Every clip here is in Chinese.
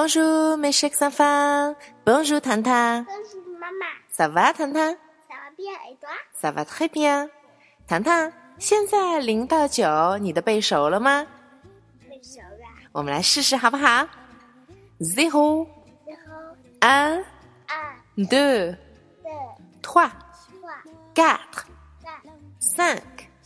Bonjour mes chers enfants. Bonjour 糖糖。 Bonjour maman. Ça va 糖糖 Ça va bien et toi? Ça va très bien。糖糖，现在0到9你的背熟了吗？ 背熟了。 我们来试试好不好？ Zéro, 1, 1, 2, 3, 4, 5,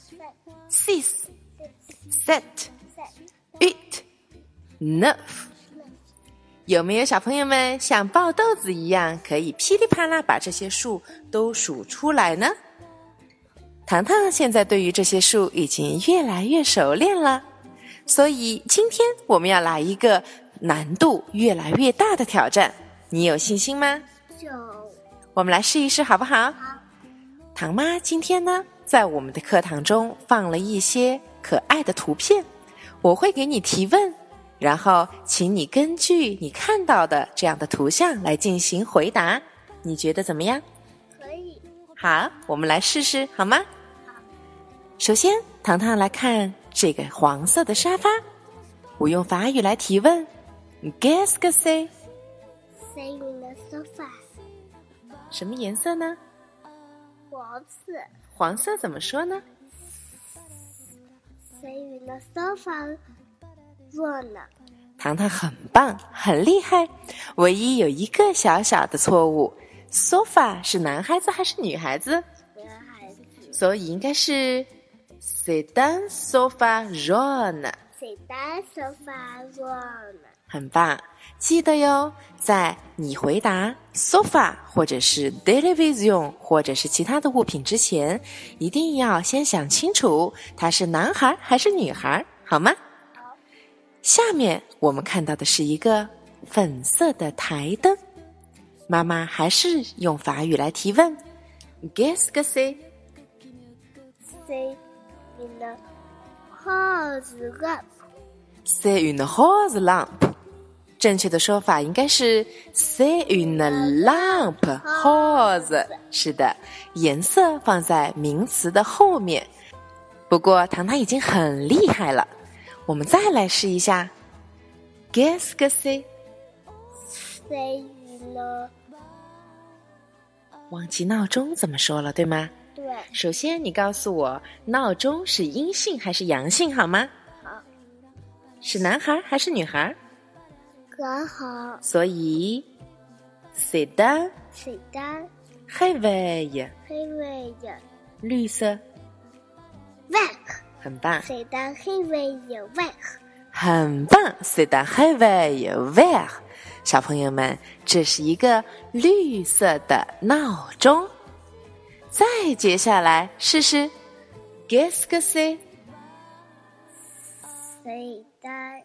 6, 7, 8, 9。有没有小朋友们像爆豆子一样可以噼里啪啦把这些数都数出来呢？糖糖现在对于这些数已经越来越熟练了，所以今天我们要来一个难度越来越大的挑战，你有信心吗？ 有。 我们来试一试好不好？ 好。 糖妈今天呢，在我们的课堂中放了一些可爱的图片，我会给你提问，然后请你根据你看到的这样的图像来进行回答，你觉得怎么样？ 可以。 好，我们来试试好吗？好。首先，糖糖来看这个黄色的沙发，我用法语来提问 Qu'est-ce que c'est? C'est une sofa. 什么颜色呢？ 黄色。 黄色怎么说呢？ C'est une sofa jaune. 糖糖很棒，很厉害，唯一有一个小小的错误， sofa 是男孩子还是女孩子？ 男孩子。 所以应该是 C'est un sofa jaune。 C'est un sofa jaune. 很棒，记得哟，在你回答 sofa 或者是 television 或者是其他的物品之前，一定要先想清楚它是男孩还是女孩，好吗？ 好。 下面我们看到的是一个粉色的台灯，妈妈还是用法语来提问 Qu'est-ce que c'est? C'est une rose lampe. C'est une rose lampe。正确的说法应该是 C'est une lampe rose。 是的，颜色放在名词的后面。不过糖糖已经很厉害了，我们再来试一下 Qu'est-ce que c'est? C'est une... 忘记闹钟怎么说了，对吗？ 对。 首先你告诉我，闹钟是阴性还是阳性好吗？ 好。 是男孩还是女孩？ 很好。 所以 C'est un C'est un réveil。 réveil 绿色 vert. 很棒， C'est un réveil vert. 很棒 C'est un réveil vert。 小朋友们，这是一个绿色的闹钟。再接下来试试 Qu'est-ce que c'est? C'est un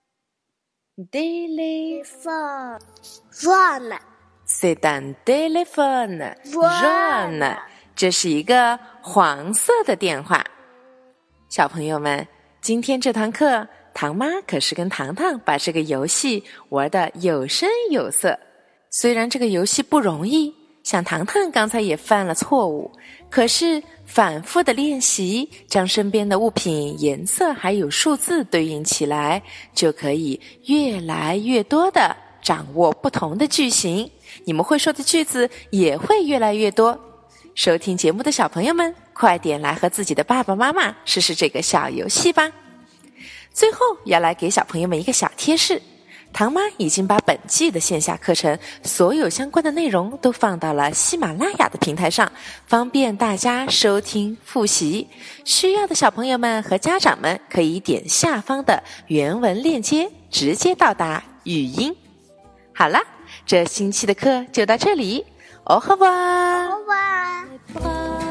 téléphone. jaune. C'est un téléphone jaune。 这是一个黄色的电话。小朋友们，今天这堂课糖妈可是跟糖糖把这个游戏玩得有声有色。虽然这个游戏不容易，像糖糖刚才也犯了错误，可是反复的练习，将身边的物品颜色还有数字对应起来，就可以越来越多的掌握不同的句型，你们会说的句子也会越来越多。收听节目的小朋友们，快点来和自己的爸爸妈妈试试这个小游戏吧。最后要来给小朋友们一个小贴士，糖妈已经把本季的线下课程所有相关的内容都放到了喜马拉雅的平台上，方便大家收听复习。需要的小朋友们和家长们可以点下方的原文链接，直接到达语音。好啦，这星期的课就到这里，au revoir。 au revoir。